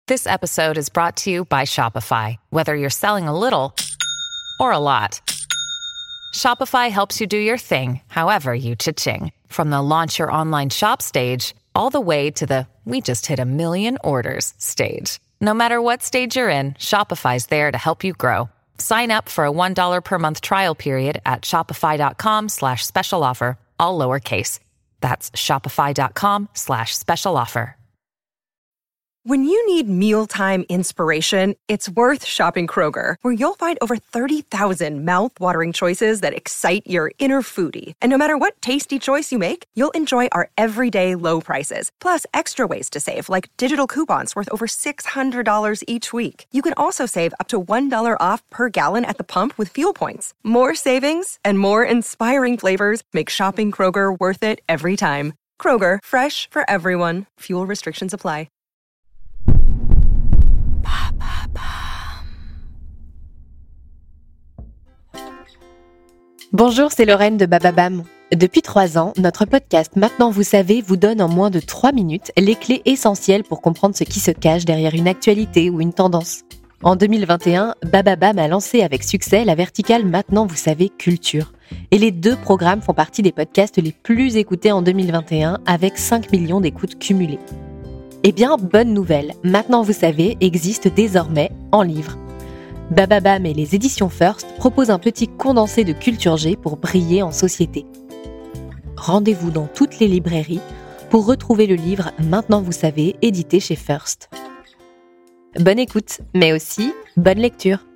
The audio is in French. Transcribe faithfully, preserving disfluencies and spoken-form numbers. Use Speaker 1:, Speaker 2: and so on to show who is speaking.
Speaker 1: This episode is brought to you by Shopify. Whether you're selling a little or a lot, Shopify helps you do your thing, however you cha-ching. From the launch your online shop stage, all the way to the we just hit a million orders stage. No matter what stage you're in, Shopify's there to help you grow. Sign up for a one dollar per month trial period at shopify.com slash special offer, all lowercase. That's shopify.com slash special offer.
Speaker 2: When you need mealtime inspiration, it's worth shopping Kroger, where you'll find over thirty thousand mouth-watering choices that excite your inner foodie. And no matter what tasty choice you make, you'll enjoy our everyday low prices, plus extra ways to save, like digital coupons worth over six hundred dollars each week. You can also save up to one dollar off per gallon at the pump with fuel points. More savings and more inspiring flavors make shopping Kroger worth it every time. Kroger, fresh for everyone. Fuel restrictions apply.
Speaker 3: Bonjour, c'est Lorraine de Bababam. Depuis trois ans, notre podcast Maintenant vous savez vous donne en moins de trois minutes les clés essentielles pour comprendre ce qui se cache derrière une actualité ou une tendance. En deux mille vingt et un, Bababam a lancé avec succès la verticale Maintenant vous savez culture. Et les deux programmes font partie des podcasts les plus écoutés en deux mille vingt et un avec cinq millions d'écoutes cumulées. Eh bien, bonne nouvelle, Maintenant vous savez existe désormais en livre. Bababam et les éditions First proposent un petit condensé de culture G pour briller en société. Rendez-vous dans toutes les librairies pour retrouver le livre Maintenant vous savez, édité chez First. Bonne écoute, mais aussi bonne lecture.